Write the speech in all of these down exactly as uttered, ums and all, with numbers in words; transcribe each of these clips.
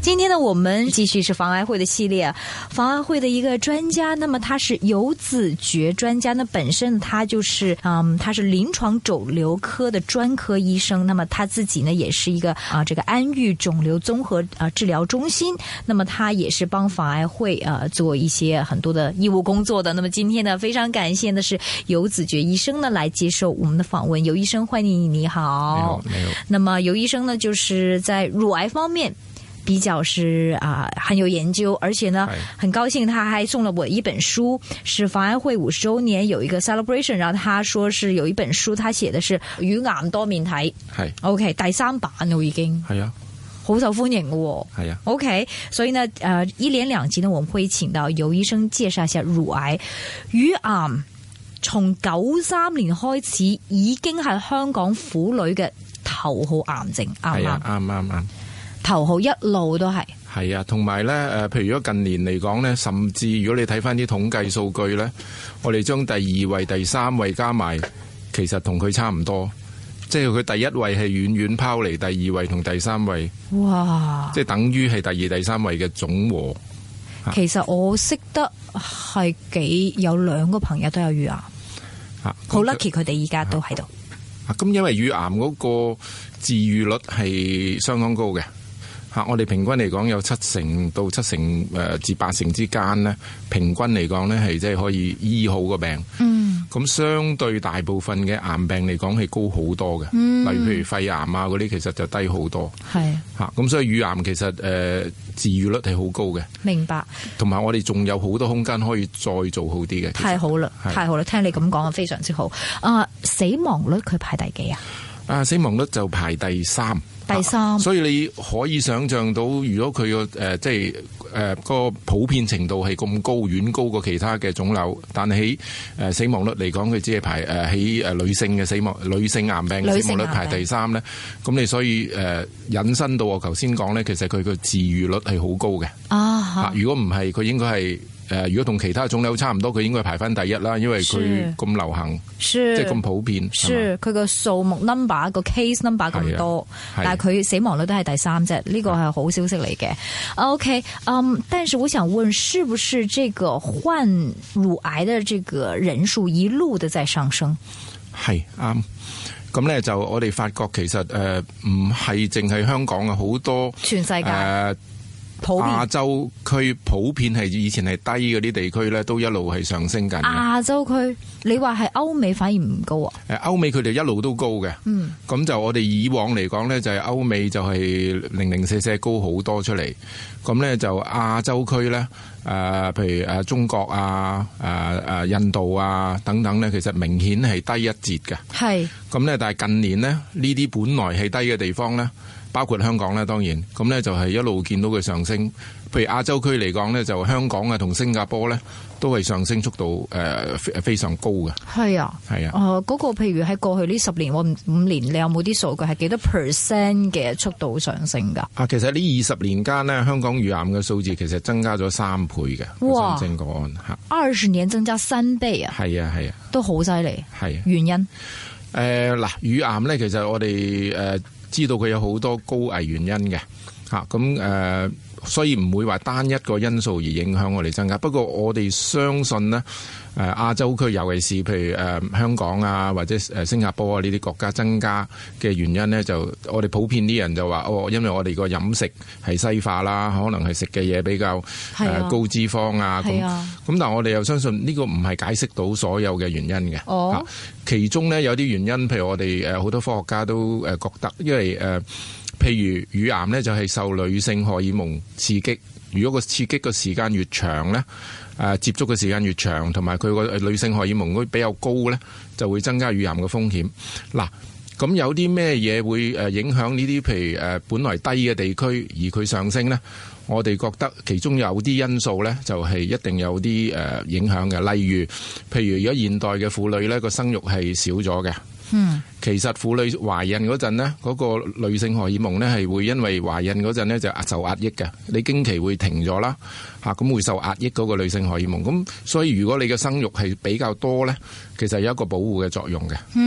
今天呢，我們繼續是防癌會的系列，防癌會的一個專家，那麼他是游子爵專家，那本身他就是嗯，他是臨床腫瘤科的專科醫生，那麼他自己呢也是一個啊、呃，這個安癒腫瘤綜合啊、呃、治療中心，那麼他也是幫防癌會啊、呃、做一些很多的義務工作的。那麼今天呢，非常感謝的是游子爵醫生呢來接受我們的訪問。游醫生，歡迎你，你好。 你好，你好。 那麼游醫生呢，就是在乳癌方面比較是啊、呃、很有研究，而且呢很高興他還送了我一本書，是防癌會五十周年有一個 celebration， 然後他說是有一本書，他寫的是乳癌多面睇，係 OK 第三版咯已經，係啊，好受歡迎嘅，係啊 OK， 所以呢呃一連兩集呢我們會請到游醫生介紹一下乳癌。乳癌從九三年開始已經係香港婦女嘅頭號癌症，啱唔啱？ 啱啱啱。 頭號一路都係係啊，同埋咧誒，譬如如果近年嚟講咧，甚至如果你睇翻啲統計數據咧，我哋將第二位、第三位加埋，其實同佢差唔多，即係佢第一位係遠遠拋離第二位同第三位，哇！即係等於係第二、第三位嘅總和。 其實我識得係幾有兩個朋友都有乳癌，好 lucky 佢哋而家都喺度。 咁因為乳癌嗰個治癒率係相當高嘅。嚇！我哋平均嚟講有七成到七成誒至八成之間咧，平均嚟講咧係即係可以醫好個病。嗯。咁相對大部分嘅癌病嚟講係高好多嘅。嗯。例如譬如肺癌啊嗰啲，其實就低好多。係。嚇！咁所以乳癌其實誒、呃、治癒率係好高嘅。明白。同埋我哋仲有好多空間可以再做好啲嘅。太好啦！太好啦！聽你咁講啊，非常之好。啊，死亡率佢排第幾啊？啊，死亡率就排第三。第三、啊，所以你可以想象到，如果佢個誒即係誒個普遍程度係咁高，遠高過其他嘅腫瘤，但係喺誒死亡率嚟講，佢只係排誒喺誒女性嘅死亡女性癌病嘅死亡率排第三咧。咁你所以誒、呃、引申到我頭先講咧，其實佢個治癒率係好高嘅。啊，啊，如果唔係，佢應該係。誒、呃，如果同其他腫瘤差唔多，佢應該排翻第一啦，因為佢咁流行，即係咁普遍。是佢個數目 number 個 case number 咁多，但係佢死亡率都係第三啫，呢、這個係好消息嚟嘅。OK， 嗯，但是我想問，是不是這個患乳癌的這個人數一路的在上升？係啱。咁咧就我哋發覺其實誒唔係淨係香港啊，好多全世界。呃亞洲區普遍係以前係低嗰啲地區咧，都一路係上升緊。亞洲區，你話係歐美反而唔高啊？誒，歐美佢哋一路都高嘅。嗯，咁就我哋以往嚟講咧，就係歐美就係零零舍舍高好多出嚟。咁咧就亞洲區咧，誒、呃，譬如誒中國啊、誒、呃、誒印度啊等等咧，其實明顯係低一截嘅。係。咁咧，但係近年咧，呢啲本來係低嘅地方咧，包括香港咧，當然咁咧就係一路見到佢上升。譬如亞洲區嚟講咧，就香港啊同新加坡咧都係上升速度誒、呃、非常高嘅。係啊，係啊。誒、呃，嗰、那個譬如喺過去呢十年或五年，你有冇啲數據係幾多 percent 嘅速度上升㗎？啊，其實呢二十年間呢，香港乳癌嘅數字其實增加咗三倍嘅。哇！新增個案嚇，二十年增加三倍啊！係啊，係啊，都好犀利。係、啊、原因誒嗱、呃，乳癌咧，其實我哋誒、呃、知道佢有好多高危原因嘅嚇，咁、啊、誒。所以唔會話單一個因素而影響我哋增加。不過我哋相信呢，誒亞洲區尤其是譬如誒香港啊或者誒新加坡啊呢啲國家增加嘅原因呢，就我哋普遍啲人就話哦，因為我哋個飲食係西化啦，可能係食嘅嘢比較誒高脂肪啊咁。咁、啊、但係我哋又相信呢個唔係解釋到所有嘅原因嘅。哦，其中呢，有啲原因，譬如我哋誒好多科學家都誒覺得，因為誒。譬如乳癌咧就係受女性荷爾蒙刺激，如果個刺激個時間越長咧，誒接觸嘅時間越長，同埋佢個女性荷爾蒙比較高咧，就會增加乳癌嘅風險。嗱，咁有啲咩嘢會誒影響呢啲？譬如誒本來低嘅地區而佢上升咧，我哋覺得其中有啲因素咧，就係一定有啲誒影響嘅。例如，譬如如果現代嘅婦女咧個生育係少咗嘅。嗯，其實婦女懷孕嗰陣呢，嗰、嗰個女性荷爾蒙呢係會因為懷孕嗰陣呢就受壓抑嘅，你經期會停咗啦，吓咁會受壓抑嗰個女性荷爾蒙，咁所以如果你嘅生育係比較多呢，其實有一個保護嘅作用嘅。嗯。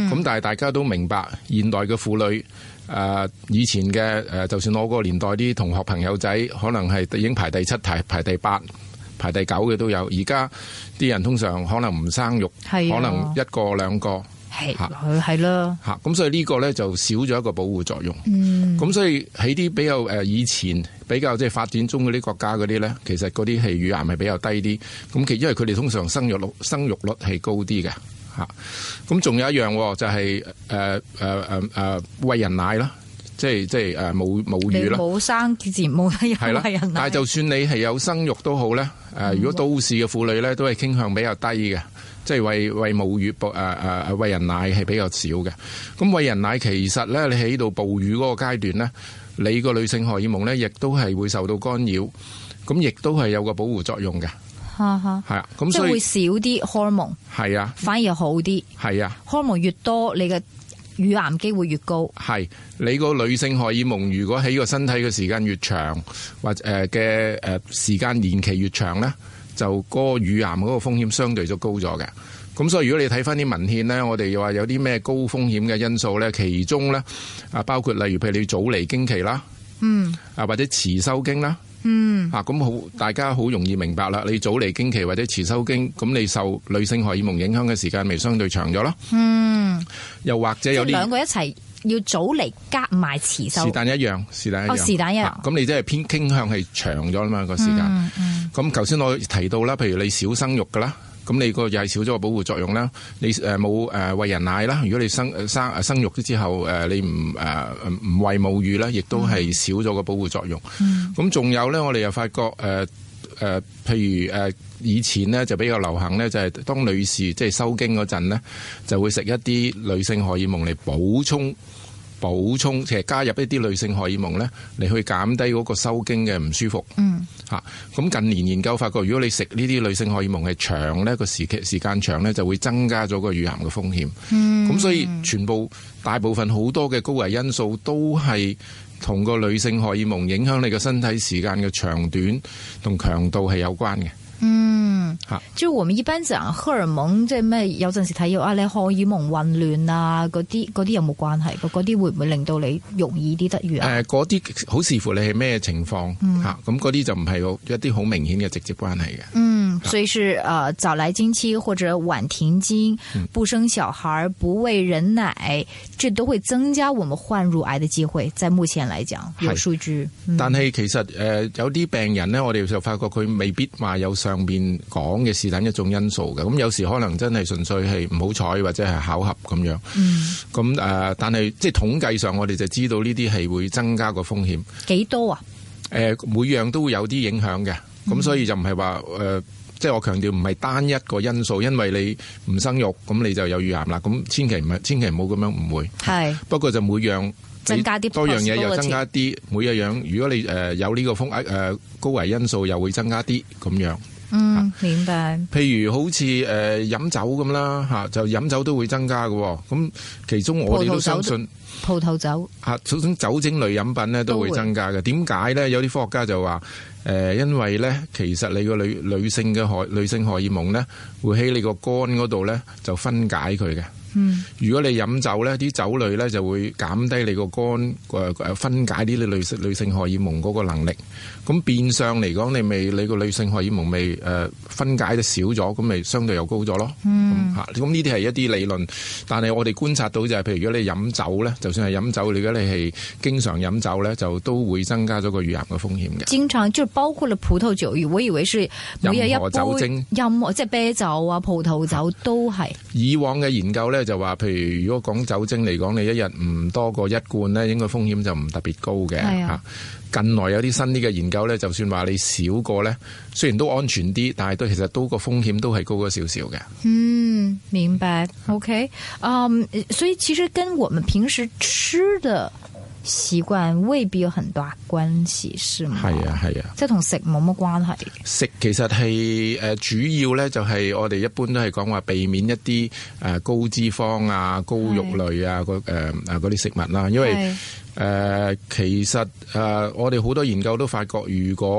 嗯。 咁但係大家都明白，現代嘅婦女誒、呃、以前嘅誒、呃，就算我個年代啲同學朋友仔，可能係已經排第七、排排第八、排第九嘅都有。而家啲人通常可能唔生育，可能一個兩個。 係係啦， 嚇咁所以呢個咧就少咗一個保護作用。 嗯， 咁所以喺啲比較誒以前比較即係發展中嗰啲國家嗰啲咧，其實嗰啲係乳癌係比較低啲。咁其因為佢哋通常生育率生育率係高啲嘅嚇。咁仲有一樣就係誒誒誒誒餵人奶啦，即係即係誒母母乳啦。 冇生自然冇得餵人奶。 但係就算你係有生育都好咧，誒如果都市嘅婦女咧都係傾向比較低嘅。即係餵餵母乳，誒誒誒餵人奶係比較少嘅。咁餵人奶其實咧，你喺度哺乳嗰個階段咧，你個女性荷爾蒙咧，亦都係會受到干擾，咁亦都係有個保護作用嘅。 哈哈， 係啊，咁所以即係會少啲荷爾蒙。係啊， 反而好啲。係啊， 荷爾蒙越多，你嘅乳癌機會越高。 係你個女性荷爾蒙，如果喺個身體嘅時間越長，或者誒嘅誒時間年期越長咧，就嗰個乳癌嗰個風險相對就高咗嘅。咁所以如果你睇翻啲文獻咧，我哋又話有啲咩高風險嘅因素咧，其中咧啊包括例如譬如你早嚟經期啦，嗯，啊或者遲收經啦，嗯，啊咁好大家好容易明白啦。你早嚟經期或者遲收經，咁你受女性荷爾蒙影響嘅時間咪相對長咗咯。嗯，又或者有啲兩個一齊要早嚟加埋遲收， 是但一樣，是但一樣， 哦，是但一樣。咁、 啊、你即係偏傾向係長咗啦嘛個時間。嗯嗯。咁頭先我提到啦，譬如你少生育噶啦。咁你個又係少咗個保護作用啦。你誒冇誒餵人奶啦。如果你生生誒生育咗之後誒你唔誒唔餵母乳咧，亦都係少咗個保護作用。咁、嗯、仲有咧，我哋又發覺誒誒、呃呃，譬如誒、呃、以前咧就比較流行咧，就係、是、當女士即係收經嗰陣咧，就會食一啲女性荷爾蒙嚟補充。補充其實加入一啲女性荷爾蒙咧，嚟去減低嗰個收經嘅唔舒服。嗯，嚇咁近年研究發覺，如果你食呢啲女性荷爾蒙係長咧，個時期時間長咧，就會增加咗個乳癌嘅風險。嗯，咁所以全部大部分好多嘅高危因素都係同個女性荷爾蒙影響你嘅身體時間嘅長短同強度係有關嘅。 嗯，即係我們一般講荷爾蒙，即係咩？有陣時睇到啊，你荷爾蒙混亂啊，嗰啲嗰啲有冇關係？嗰啲會唔會令到你容易啲得乳癌？誒、呃，嗰啲好視乎你係咩情況吓，咁嗰啲就唔係一啲好明顯嘅直接關係嘅。嗯，所以是誒、呃、早來經期或者晚停經，不生小孩，不餵人奶，這都會增加我們患乳癌的機會。在目前來講，有數據。嗯、但係其實誒、呃、有啲病人咧，我哋就發覺佢未必話有上邊講嘅是但一種因素嘅，咁有時可能真係純粹係唔好彩或者係巧合咁樣。嗯，咁誒、呃，但係即係統計上，我哋就知道呢啲係會增加個風險。幾多啊？誒、呃，每樣都會有啲影響嘅，咁、嗯、所以就唔係話誒，即係我強調唔係單一個因素，因為你唔生育，咁你就有乳癌啦。咁千祈唔係，千祈唔好咁樣誤會。係，不過就每樣增加啲多樣嘢又增加啲，每一樣如果你誒有呢個風誒、呃、高危因素，又會增加啲咁樣。嗯，明白。譬如好似誒飲酒咁啦吓，就飲酒都會增加嘅。咁其中我哋都相信葡萄酒吓，種種酒精類飲品咧都會增加嘅。點解咧？有啲科學家就話誒、呃，因為咧其實你個女女性嘅荷女性荷爾蒙咧會喺你個肝嗰度咧就分解佢嘅。嗯，如果你飲酒咧，啲酒類咧就會減低你個肝誒誒分解啲女女性女性荷爾蒙嗰個能力。咁變相嚟講，你咪你個女性荷爾蒙咪誒分解得少咗，咁咪相對又高咗咯。嗯，嚇，咁呢啲係一啲理論，但係我哋觀察到就係，譬如如果你飲酒咧，就算係飲酒，如果你係經常飲酒咧，就都會增加咗個乳癌嘅風險嘅。經常就包括了葡萄酒，我以為是每日一杯任何酒精，任何即係啤酒啊、葡萄酒都係。以往嘅研究咧就話，譬如如果講酒精嚟講，你一日唔多過一罐咧，應該風險就唔特別高嘅嚇。近來有啲新啲嘅研究咧，就算話你少過咧，雖然都安全啲，但係都其實都個風險都係高咗少少嘅。嗯，明白。OK，嗯、um, 所以其實跟我們平時吃的習慣未必有很大關係，是嗎？係啊，係啊，即係同食冇乜關係。食其實係誒主要咧，就係我哋一般都係講話避免一啲誒高脂肪啊、高肉類啊、嗰誒誒嗰啲食物啦，因為誒、呃，其實誒、呃，我哋好多研究都發覺，如果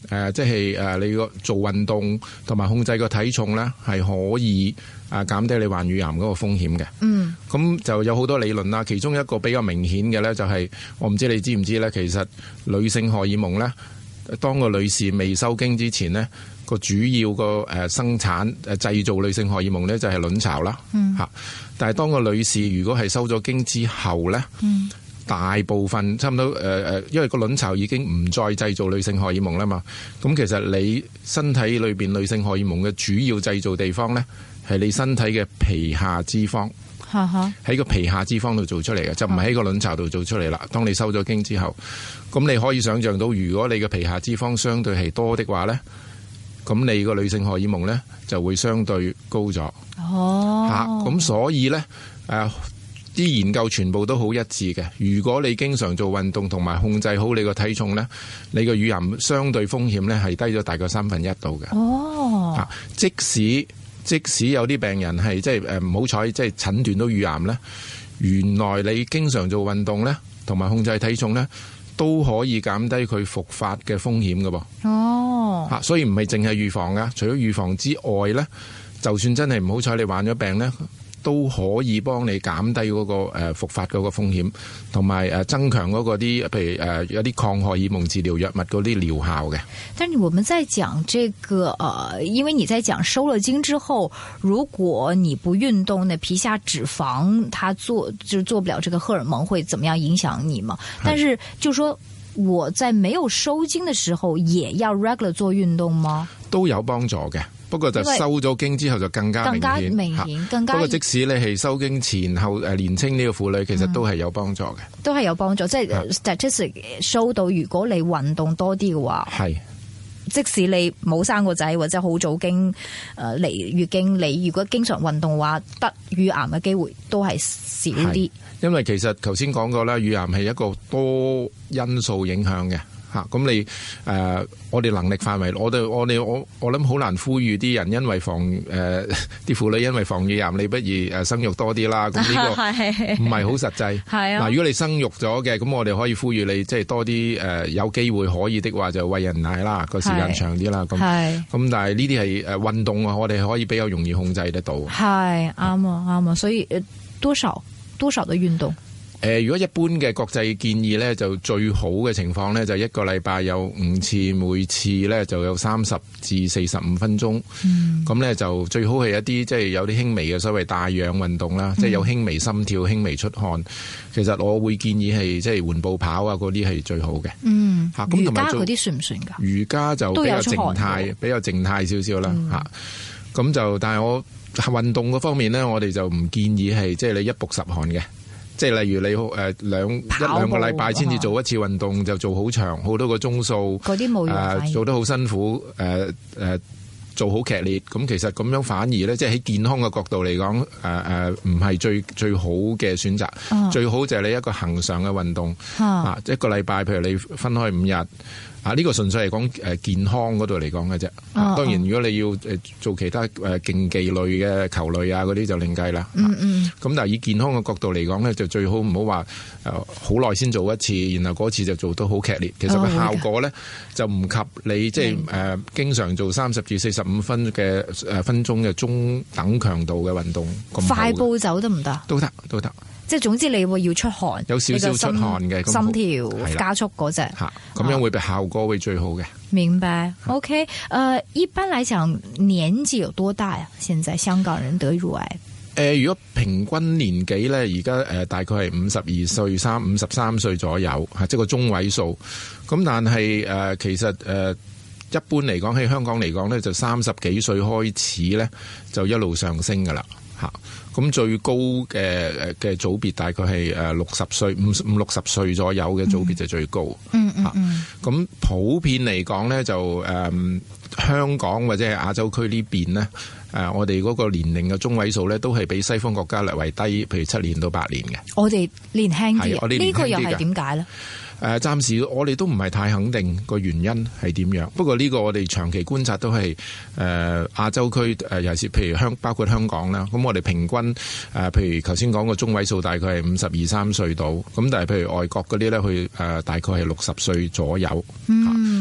誒即係誒你個做運動同埋控制個體重咧，係可以啊減低你患乳癌嗰個風險嘅。嗯，咁就有好多理論啦，其中一個比較明顯嘅咧就係我唔知你知唔知咧，其實女性荷爾蒙咧，當個女士未收經之前咧，個主要個誒生產誒製造女性荷爾蒙咧就係卵巢啦。嗯，嚇，但係當個女士如果係收咗經之後咧，嗯。大部分差唔多誒誒，因為個卵巢已經唔再製造女性荷爾蒙啦嘛，咁其實你身體裏邊女性荷爾蒙嘅主要製造地方咧，係你身體嘅皮下脂肪，喺個皮下脂肪度做出嚟嘅，就唔係喺個卵巢度做出嚟啦。當你收咗經之後，咁你可以想像到，如果你嘅皮下脂肪相對係多的話咧，咁你個女性荷爾蒙咧就會相對高咗。哦，嚇，咁所以咧誒。啲研究全部都好一致嘅。如果你經常做運動同埋控制好你個體重咧，你個乳癌相對風險咧係低咗大概三分一度嘅。哦，即使即使有啲病人係即係誒唔好彩，即係診斷到乳癌咧，原來你經常做運動咧同埋控制體重咧，都可以減低佢復發嘅風險嘅噃。哦，嚇，所以唔係淨係預防噶，除咗預防之外咧，就算真係唔好彩你患咗病咧，都可以幫你減低嗰個誒復發嗰個風險，同埋誒增強嗰個啲，譬如誒有啲抗荷爾蒙治療藥物嗰啲療效嘅。 但是我們在講這個呃，因為你在講收了經之後，如果你不運動，那皮下脂肪它做就做不了這個荷爾蒙，會怎麼樣影響你嘛？但是就說我在沒有收經的時候，也要 regular 做運動嗎？ 都有幫助嘅。不過就收咗經之後就更加明顯，更加明顯，更加。 不過即使你係收經前後誒年青呢個婦女，其實都係有幫助嘅、嗯， 都係有幫助。即係 statistic show 到，如果你運動多啲嘅話，係即使你冇生過仔或者好早經誒嚟月經，你如果經常運動嘅話，得乳癌嘅機會都係少啲。 因為其實頭先講過啦，乳癌係一個多因素影響嘅。咁你誒、呃，我哋能力範圍，我哋我哋我我諗好難呼籲啲人，因為防誒啲婦女因為防乳癌，你不如誒生育多啲啦。咁呢個唔係好實際。係啊，嗱，如果你生育咗嘅，咁我哋可以呼籲你，即係多啲誒、呃、有機會可以的話，就餵人奶啦，個時間長啲啦。咁咁，但係呢啲係誒運動啊，我哋可以比較容易控制得到。係啱啊，啱啊，所以多少多少嘅運動。誒、呃，如果一般嘅國際建議咧，就最好嘅情況咧，就一個禮拜有五次，每次咧就有三十至四十五分鐘。咁、嗯、咧就最好係一啲即係有啲輕微嘅所謂帶氧運動啦，嗯、即係有輕微心跳、輕微出汗。其實我會建議係即係緩步跑啊，嗰啲係最好嘅。嗯，嚇咁同埋瑜伽嗰啲算唔算㗎？瑜伽就比較靜態，比較靜態少少啦。嚇、嗯，咁就但係我運動嗰方面咧，我哋就唔建議係即係你一曝十汗嘅。即係例如你誒兩一兩個禮拜先至做一次運動，就做好長好多個鐘數，嗰啲冇用、呃，做得好辛苦，誒、呃、誒、呃、做好劇烈，咁其實咁樣反而咧，即係喺健康嘅角度嚟講，誒誒唔係最最好嘅選擇、啊，最好就係你一個恆常嘅運動，啊，啊一個禮拜，譬如你分開五日。啊！呢、這個純粹係講誒健康嗰度嚟講嘅啫。當然，如果你要誒做其他誒競技類嘅球類啊嗰啲就另計啦。嗯嗯。咁但係以健康嘅角度嚟講咧，就最好唔好話誒好耐先做一次，然後嗰次就做得好劇烈。其實個效果咧、哦、就唔及你即係誒經常做三十至四十五分嘅誒分鐘嘅中等強度嘅運動咁好。快步走得唔得？都得，都得。即係總之你會要出汗，有少少出汗嘅心跳加速嗰隻，吓咁樣會比效果會最好嘅。明白。OK，誒、呃，一般嚟講年紀有多大啊？現在香港人得乳癌？誒、呃，如果平均年紀咧，而家誒大概係五十二歲、三五十三歲左右，吓即係個中位數。咁但係誒、呃，其實誒、呃、一般嚟講喺香港嚟講咧，就三十幾歲開始咧就一路上升噶啦。吓，咁最高嘅誒嘅組別大概係誒六十歲五五六十歲左右嘅組別就最高。嗯嗯嗯。咁、嗯、普遍嚟講咧，就誒、嗯、香港或者係亞洲區呢邊咧，誒我哋嗰個年齡嘅中位數咧，都係比西方國家略為低，譬如七年到八年嘅。我哋年輕啲，呢、呢個又係點解咧？誒、呃，暫時我哋都唔係太肯定個原因係點樣。不過呢個我哋長期觀察都係誒、呃、亞洲區誒，尤其是譬如香包括香港啦。咁我哋平均誒、呃，譬如頭先講個中位數大概係五十二三歲到。咁但係譬如外國嗰啲咧，去誒大概係六十歲左右。嗯。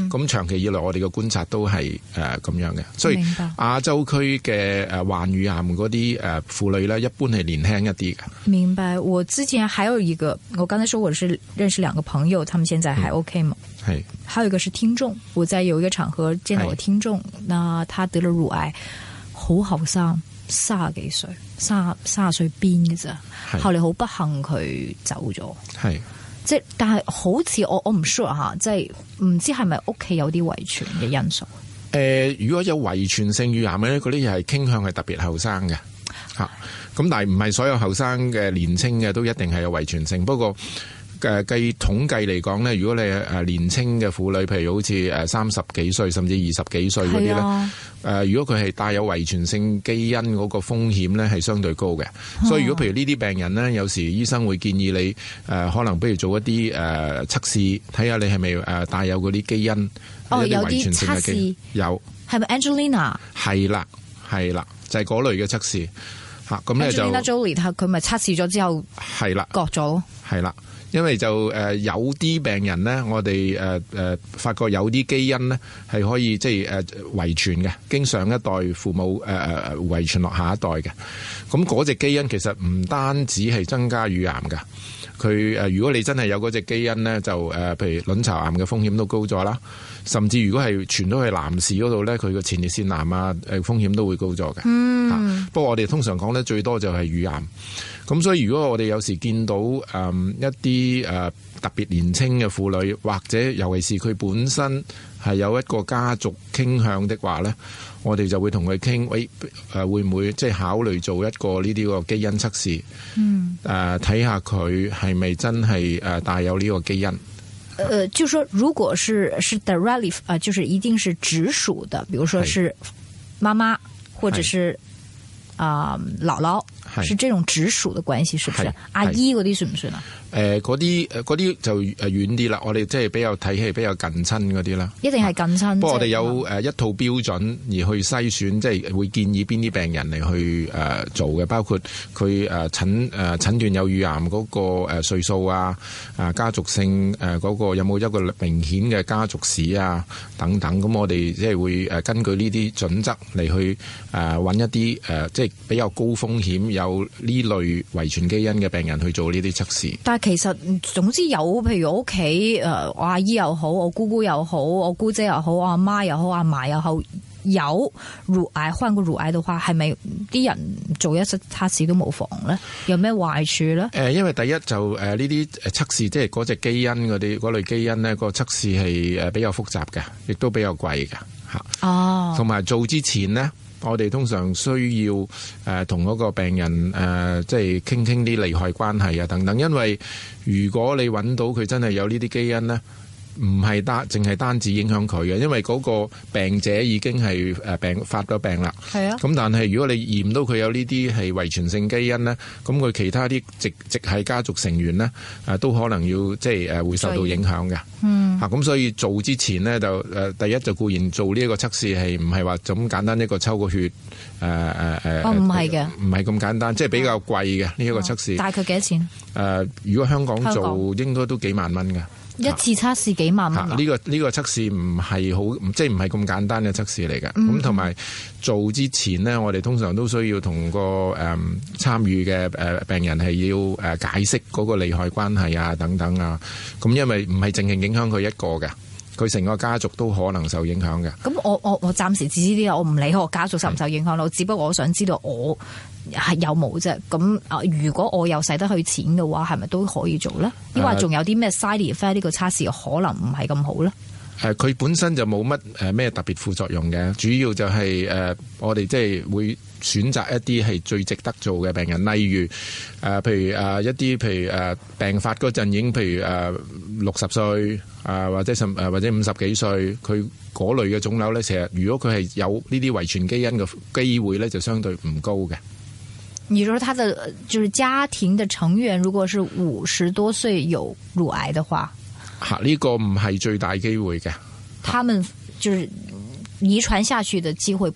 咁長期以來我哋嘅觀察都係誒咁樣嘅，所以亞洲區嘅誒患乳癌嗰啲誒婦女咧，一般係年輕一啲嘅。 明白。我之前還有一個，我剛才說我是認識兩個朋友，他們現在還 OK 嘛？係、嗯。還有一個是聽眾，我在有一個場合見到我聽眾，那他得了乳癌，好後生，三十幾歲，三三十歲邊嘅咋？後嚟好不幸佢走咗。係。即係，但係好似我我唔 sure 吓，即係唔知係咪屋企有啲遺傳嘅因素。誒、 呃，如果有遺傳性乳癌咧，嗰啲又係傾向係特別後生嘅吓。咁但係唔係所有後生嘅年青嘅都一定係有遺傳性。不過誒，計統計嚟講咧，如果你誒年青嘅婦女，譬如好似誒三十幾歲甚至二十幾歲嗰啲咧，誒、呃，如果佢係帶有遺傳性基因嗰個風險咧，係相對高嘅、哦。所以如果譬如呢啲病人咧，有時醫生會建議你誒、呃，可能不如做一啲誒測試，睇、呃、下你係咪誒帶有嗰啲基因， 哦， 有啲測試有，係咪 Angelina？ 係啦，係啦，就係、是、嗰類嘅測試吓。咁咧就 Angelina Jolie，佢咪測試咗之後係啦， 割咗， 係啦。因為就誒有啲病人咧，我哋誒誒發覺有啲基因咧係可以即係誒遺傳嘅，經上一代父母誒誒誒遺傳落下一代嘅。咁嗰隻基因其實唔單止係增加乳癌㗎，佢誒如果你真係有嗰隻基因咧，就誒譬如卵巢癌嘅風險都高咗啦。甚至如果係傳到去男士嗰度咧，佢個前列腺癌啊誒風險都會高咗嘅。嗯、啊，不過我哋通常講咧最多就係乳癌。咁所以如果我哋有時見到誒、嗯、一啲誒、呃、特別年輕嘅婦女，或者尤其是佢本身係有一個家族傾向的話咧，我哋就會同佢傾，喂誒會唔會即係考慮做一個呢啲個基因測試？嗯，誒睇下佢係咪真係誒帶有呢個基因？ 呃，就說如果是是 directly 啊、呃，就是一定是直屬的，比如說是媽媽或者是啊、呃、姥姥。是這種直屬的關係，是不是？阿姨嗰啲算唔算啊？ 誒，嗰啲誒，嗰啲就誒遠啲啦。我哋即係比較睇起比較近親嗰啲啦。 一定係近親。不過我哋有誒一套標準而去篩選，即係會建議邊啲病人嚟去誒做嘅，包括佢誒診誒診斷有乳癌嗰個誒歲數啊，啊家族性誒嗰個有冇一個明顯嘅家族史啊等等。咁我哋即係會誒根據呢啲準則嚟去誒揾一啲誒即係比較高風險有有呢類遺傳基因嘅病人去做呢啲測試。 但係其實總之有，譬如我屋企誒，我阿姨又好，我姑姑又好，我姑姐又好，我阿媽又好，阿嫲又好，有乳癌患過乳癌嘅話，係咪啲人做一次測試都冇妨咧？有咩壞處咧？誒、 呃，因為第一就誒呢啲誒測試，即係嗰隻基因嗰啲嗰類基因咧，個測試係誒比較複雜嘅，亦都比較貴嘅吓。哦，同埋做之前咧。我哋通常需要誒同嗰個病人誒即係傾傾啲利害關係啊等等，因為如果你揾到佢真係有呢啲基因咧，唔係單淨係單止影響佢嘅，因為嗰個病者已經係誒病發咗病啦。係啊。咁但係如果你驗到佢有呢啲係遺傳性基因咧，咁佢其他啲直直系家族成員咧誒都可能要即係誒會受到影響嘅。嗯。嚇咁所以做之前咧就誒第一就固然做呢一個測試係唔係話咁簡單一個抽個血誒誒誒。 哦，唔係嘅。唔係咁簡單，即係比較貴嘅呢一個測試。 大概幾多錢？誒，如果香港做應該都幾萬蚊㗎。一次測試幾萬蚊？呢、這個呢、這個測試唔係好，即係唔係咁簡單嘅測試嚟嘅。咁同埋做之前呢，我哋通常都需要同個誒參與嘅誒病人係要誒解釋嗰個利害關係啊等等啊。咁因為唔係淨係影響佢一個嘅，佢成個家族都可能受影響嘅。咁我我我暫時只知啲啊，我唔理我家族受唔受影響咯。只不過我想知道我係有冇啫。咁啊，如果我又使得去錢嘅話，係咪都可以做咧？抑或仲有啲咩 side effect 呢個測試可能唔係咁好咧？ 誒，佢本身就冇乜誒咩特別副作用嘅，主要就係、是、誒、呃、我哋即係會選擇一啲係最值得做嘅病人，例如誒、呃、譬如誒、呃、一啲譬如誒、呃、病發嗰陣已經譬如誒六十歲啊，或者甚誒或者五十幾歲，佢嗰類嘅腫瘤咧，其實如果佢係有呢啲遺傳基因嘅機會咧，就相對唔高嘅。 你說他的就是家庭的成員，如果是五十多歲有乳癌的話， 吓、這、呢個唔係最大機會嘅。 他們就是遺傳下去的機會不大。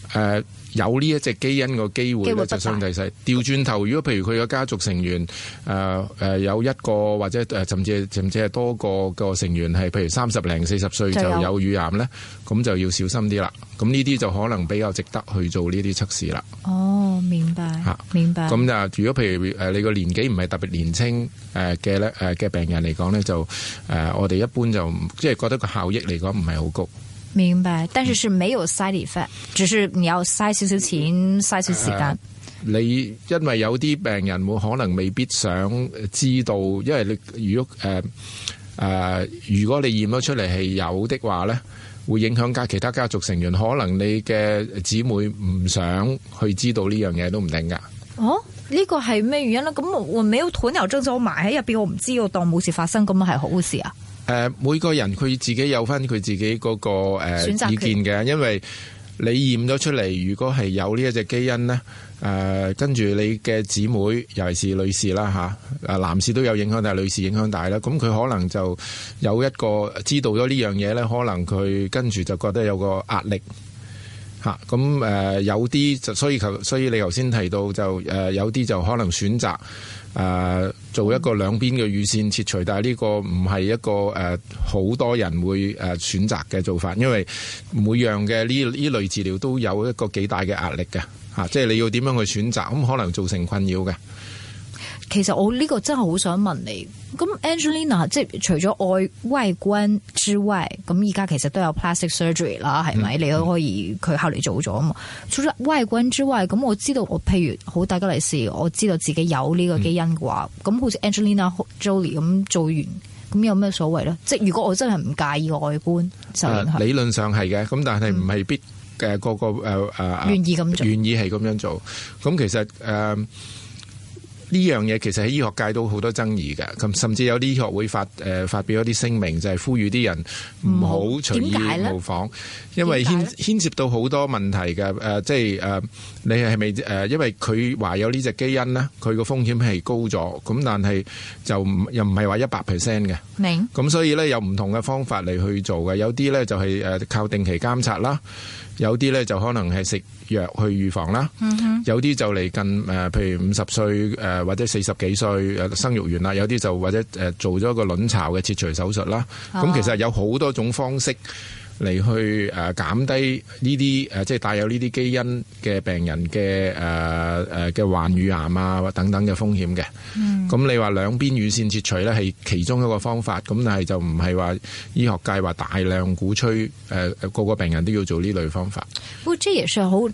誒有呢一隻基因個機會咧就相對細。調轉頭，如果譬如佢個家族成員誒誒、呃呃、有一個或者誒甚至甚至係多個個成員係譬如三十零四十歲就有乳癌咧，咁就要小心啲啦。咁呢啲就可能比較值得去做呢啲測試啦。 哦，明白嚇，明白。 咁就如果譬如誒你個年紀唔係特別年輕誒嘅咧誒嘅病人嚟講咧，就誒、呃、我哋一般就即係覺得個效益嚟講唔係好高。 明白，但是是沒有 side effect，、嗯、只是你要嘥少少錢，嘥少少時間、呃。你因為有啲病人會可能未必想知道，因為你如果誒誒、呃呃、如果你驗咗出嚟係有的話咧，會影響家其他家族成員，可能你嘅姊妹唔想去知道呢樣嘢都唔定噶。 哦，呢、這個係咩原因咧？咁我我沒有鴕鳥症就埋喺入邊，我唔知，我當冇事發生，咁係好事啊？ 誒、呃，每個人佢自己有翻佢自己嗰、那個誒、呃、意見嘅，因為你驗咗出嚟，如果係有呢一隻基因咧，誒、呃，跟住你嘅姊妹，尤其是女士啦吓，誒、啊，男士都有影響，但係女士影響大啦。咁佢可能就有一個知道咗呢樣嘢咧，可能佢跟住就覺得有個壓力吓。咁、啊、誒、呃，有啲就所以求，所以你頭先提到就誒、呃，有啲就可能選擇。誒、呃、做一個兩邊嘅乳腺切除，但係呢個唔係一個誒好、呃、多人會誒、呃、選擇嘅做法，因為每樣嘅呢呢類治療都有一個幾大嘅壓力嘅嚇、啊，即係你要點樣去選擇，咁可能造成困擾嘅。 其實我呢個真係好想問你，咁 Angelina 即係除咗外外觀之外，咁而家其實都有 plastic surgery 啦，係咪？嗯、你都可以佢後嚟做咗啊嘛。除咗外觀之外，咁我知道我譬如好大吉利是，我知道自己有呢個基因嘅話，咁、嗯、好似 Angelina Jolie 咁做完，咁有咩所謂咧？即係如果我真係唔介意外觀，就、呃、 理論上係嘅，咁但係唔係必嘅個個誒誒願意咁做， 願意係咁樣做。咁其實誒。呃呢樣嘢其實喺醫學界都好多爭議嘅，咁甚至有啲醫學會發誒、呃、發表一啲聲明，就係、是、呼籲啲人唔好隨意模仿，因為牽牽涉到好多問題嘅誒、呃，即係誒、呃、你係咪誒？因為佢話有呢隻基因咧，佢個風險係高咗，咁但係就唔又唔係話一百 percent 嘅。明咁所以咧有唔同嘅方法嚟去做嘅，有啲咧就係誒靠定期監察啦，有啲咧就可能係食藥去預防啦、嗯，有啲就嚟近誒、呃，譬如五十歲誒、呃、或者四十幾歲誒生育完啦，有啲就或者誒、呃、做咗個卵巢嘅切除手術啦。咁、哦、其實有好多種方式嚟去誒減低呢啲誒即係帶有呢啲基因嘅病人嘅誒誒嘅患乳癌啊或等等嘅風險嘅。咁、嗯、你話兩邊乳腺切除咧係其中一個方法，咁但係就唔係話醫學界話大量鼓吹誒、呃、個個病人都要做呢類方法。 不過這也是好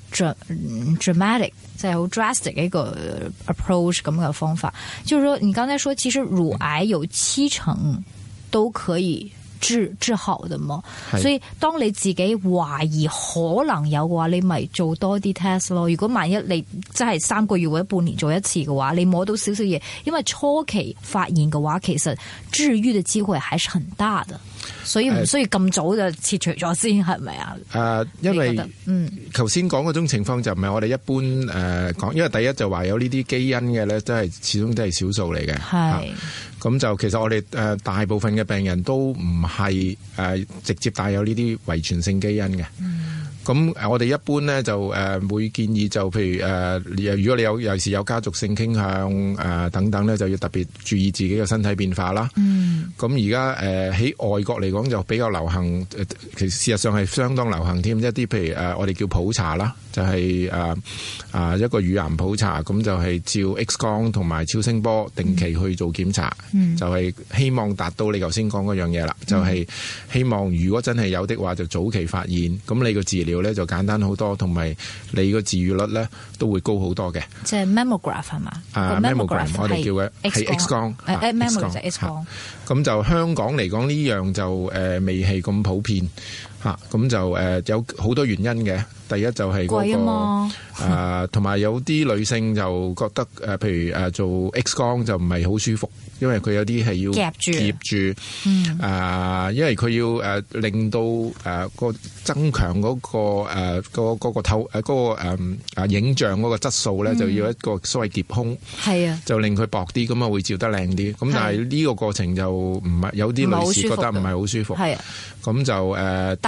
dramatic， 即係好 drastic 嘅一個 approach 咁嘅方法。就是說，你剛才說其實乳癌有七成都可以治治好的嘛，所以當你自己懷疑可能有嘅話，你咪做多啲 test 咯。如果萬一你真係三個月或者半年做一次嘅話，你摸到少少嘢，因為初期發現嘅話，其實治愈嘅機會還是很大的。所以唔需要咁早就切除咗先，係咪啊？誒、呃，因為嗯，頭先講嗰種情況就唔係我哋一般誒講、呃，因為第一就話有呢啲基因嘅咧，都係始終都係少數嚟嘅。係咁、啊、就其實我哋誒、呃、大部分嘅病人都唔係誒直接帶有呢啲遺傳性基因嘅。嗯咁我哋一般咧就誒會建議就譬如誒、呃，如果你有尤其是有家族性傾向誒、呃、等等咧，就要特別注意自己嘅身體變化啦。嗯。咁而家誒喺外國嚟講就比較流行，其實事實上係相當流行添。一啲譬如誒、呃、我哋叫普查啦，就係誒啊一個乳癌普查，咁就係照 X 光同埋超聲波定期去做檢查。嗯。就係、是、希望達到你頭先講嗰樣嘢啦，就係、是、希望如果真係有的話，就早期發現，咁你個治療咧就簡單好多，同埋你個治愈率咧都會高好多嘅。即係 mammogram 係嘛？啊 mammogram 我哋叫嘅係 X 光。誒誒 mammogram 就 X 光。咁就香港嚟講呢樣就誒、呃、未係咁普遍嚇，咁、啊、就誒、呃、有好多原因嘅。第一就係嗰、那個誒，同埋、呃、有啲女性就覺得誒、呃，譬如誒、呃、做 X 光就唔係好舒服。因為佢有啲係要夾住，夾住，嗯，啊、呃，因為佢要誒、呃、令到誒、呃、個增強嗰、那個誒、呃那個嗰個透誒嗰個誒啊影像嗰個質素咧、嗯，就要一個所謂夾空，係啊，就令佢薄啲，咁啊會照得靚啲。咁但係呢個過程就唔係有啲女士覺得唔係好舒服，係啊，咁就誒、呃、第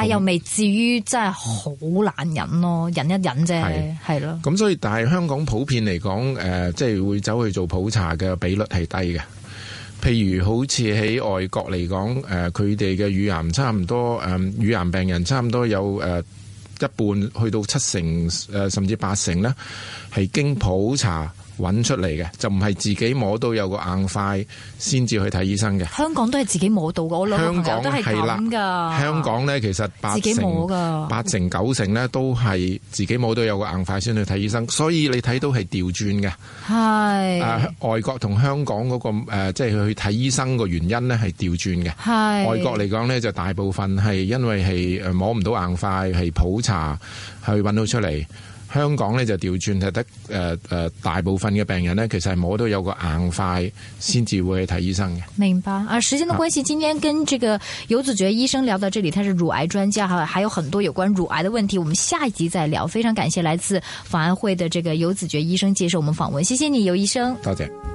但係又未至於真係好難忍咯，忍一忍啫，係咯。 咁所以但係香港普遍嚟講，誒、呃，即係會走去做普查嘅比率係低嘅。譬如好似喺外國嚟講，誒佢哋嘅乳癌差唔多，誒、呃、乳癌病人差唔多有誒、呃、一半去到七成，誒、呃、甚至八成咧，係經普查揾出嚟嘅，就唔係自己摸到有個硬塊先至去睇醫生嘅。香港都係自己摸到嘅，我兩個朋友都係咁噶。香港咧其實八成、八成九成咧都係自己摸到有個硬塊先去睇醫生，所以你睇到係調轉嘅。係誒、呃，外國同香港嗰、那個誒、呃，即係去睇醫生個原因咧係調轉嘅。係外國嚟講咧，就大部分係因為係誒摸唔到硬塊，係普查去揾到出嚟。香港咧就調轉，係得誒誒大部分嘅病人呢，其實係摸到有個硬塊先至會去睇醫生嘅。明白啊！時間的關係，今天跟這個游子爵醫生聊到這裡，他是乳癌專家哈，還有很多有關乳癌的問題，我們下一集再聊。非常感謝來自防癌會的這個游子爵醫生接受我們訪問，謝謝你，游醫生。多謝。